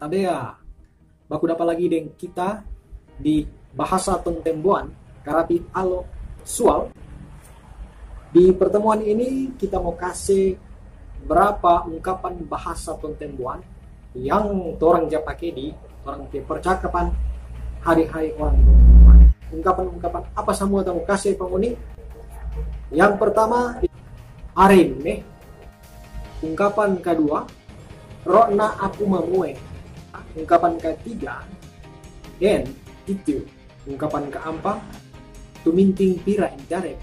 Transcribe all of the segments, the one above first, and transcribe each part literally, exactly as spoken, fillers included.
Tadea, baku dapat lagi dengan kita di bahasa Tontembuan, Karapit Alo Sual. Di pertemuan ini kita mau kasih berapa ungkapan bahasa Tontembuan yang orang ja pakai di orang ke percakapan hari-hari orang Tontembuan. Ungkapan-ungkapan apa semua kita mau kasih penguning. Yang pertama, arin nih. Ungkapan kedua, rokna aku mamue. Ungkapan ketiga, den itu. Ungkapan keempat, tuminting pira indarep.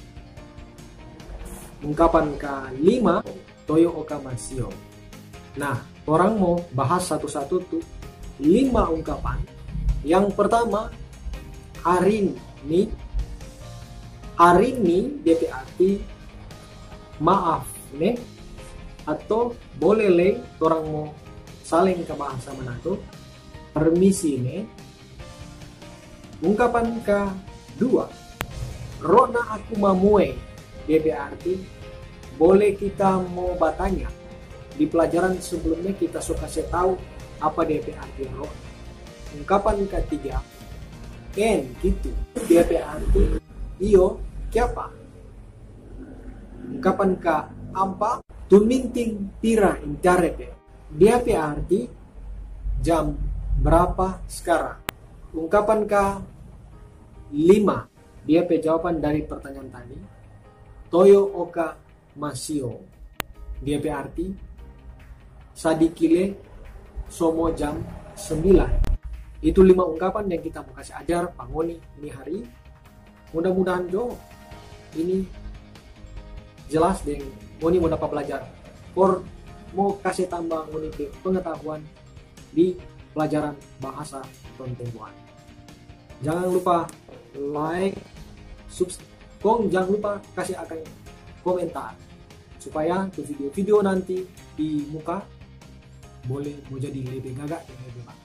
Ungkapan kelima, toyo oka masio. Nah, orang mau bahas satu-satu tuh lima ungkapan. Yang pertama, arin ni. Arin ni dia arti maaf nih, atau boleh le orang mau saling ke bahasa mana tuh permisi nih. Ungkapan kedua, rona aku mamue dia berarti boleh kita mau bertanya. Di pelajaran sebelumnya kita suka saya tahu apa dia berarti rona. Ungkapan ketiga, en gitu dia berarti iyo siapa. Ungkapan keempat, tuminting pira indarepe. Dia berarti jam berapa sekarang. Ungkapan ke lima, dia pe jawaban dari pertanyaan tadi. Toyo oka masio. Dia berarti sadikile somo jam sembilan. Itu lima ungkapan yang kita mau kasih ajar pangoni ini hari. Mudah-mudahan jo ini jelas dan Ngoni mau dapat belajar. Or mau kasih tambah Ngoni pengetahuan di pelajaran bahasa Tontembuan. Jangan lupa like, subscribe, jangan lupa kasih akan komentar supaya tuh video-video nanti di muka boleh mau jadi lebih gagak dan lebih bagus.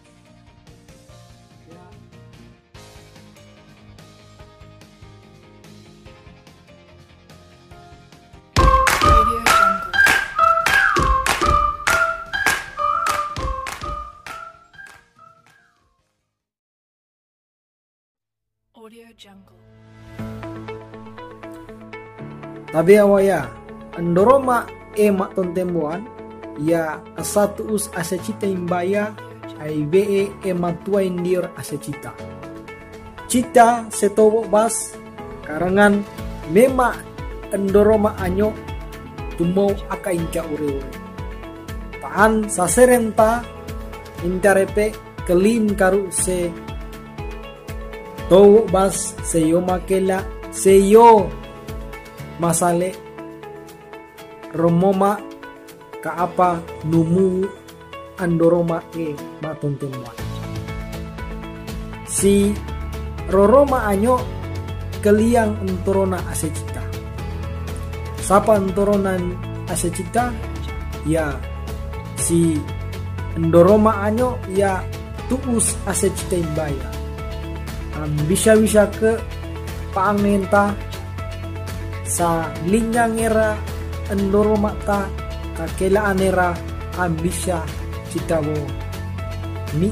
Audio Jungle. Tabi awaya andoroma emak Tontembuan ya asatu us asecita imbaya ai be emak tua indir asecita. Cita setobo bas karangan mema andoroma anyo tumau aka inca ure-ure. Taan saserenta incarepe kelim karu se Towo bas seyo makela seyo masale romoma kaapa numu andoroma e Tontembuan. Si roroma anyo keliang entorona asecita. Sapa entoronan asecita ya si endoroma anyo ya tuus asecita imbaya. Bisa-bisa ke paangenta sa linyang era endoroma ta kakelaan era ambisya citawo mi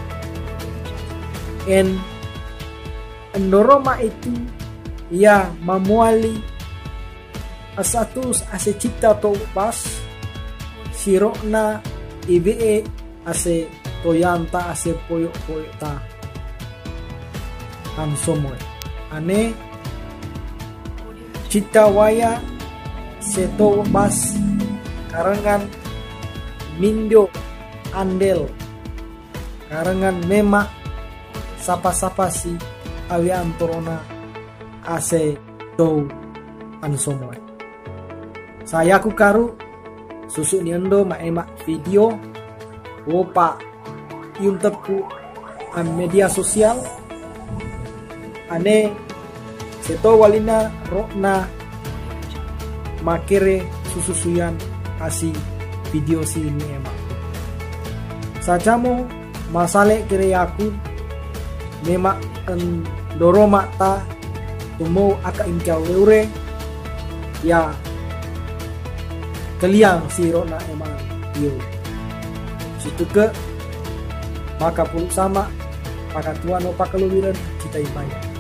en endoroma itu ya mamuali asatus ase cita to pas sirokna ibe ase toyanta ase poyo-poyo ta Hansomoy. Ane cita waya seto bas karangan mindo andel karangan mema sapa-sapa si awi antorona ase to hansomoy. Saya ku karu susu niendo ma emak video wopa yunteku an media sosial ane seto walina rokna makere sususuyan asi video si ini emak sajamo masale kere aku memak en doroma ta tumo aka inca ure ya keliang si rokna emang yo situ ke maka pun sama, maka Tuhan opa keluwiran kita imaya.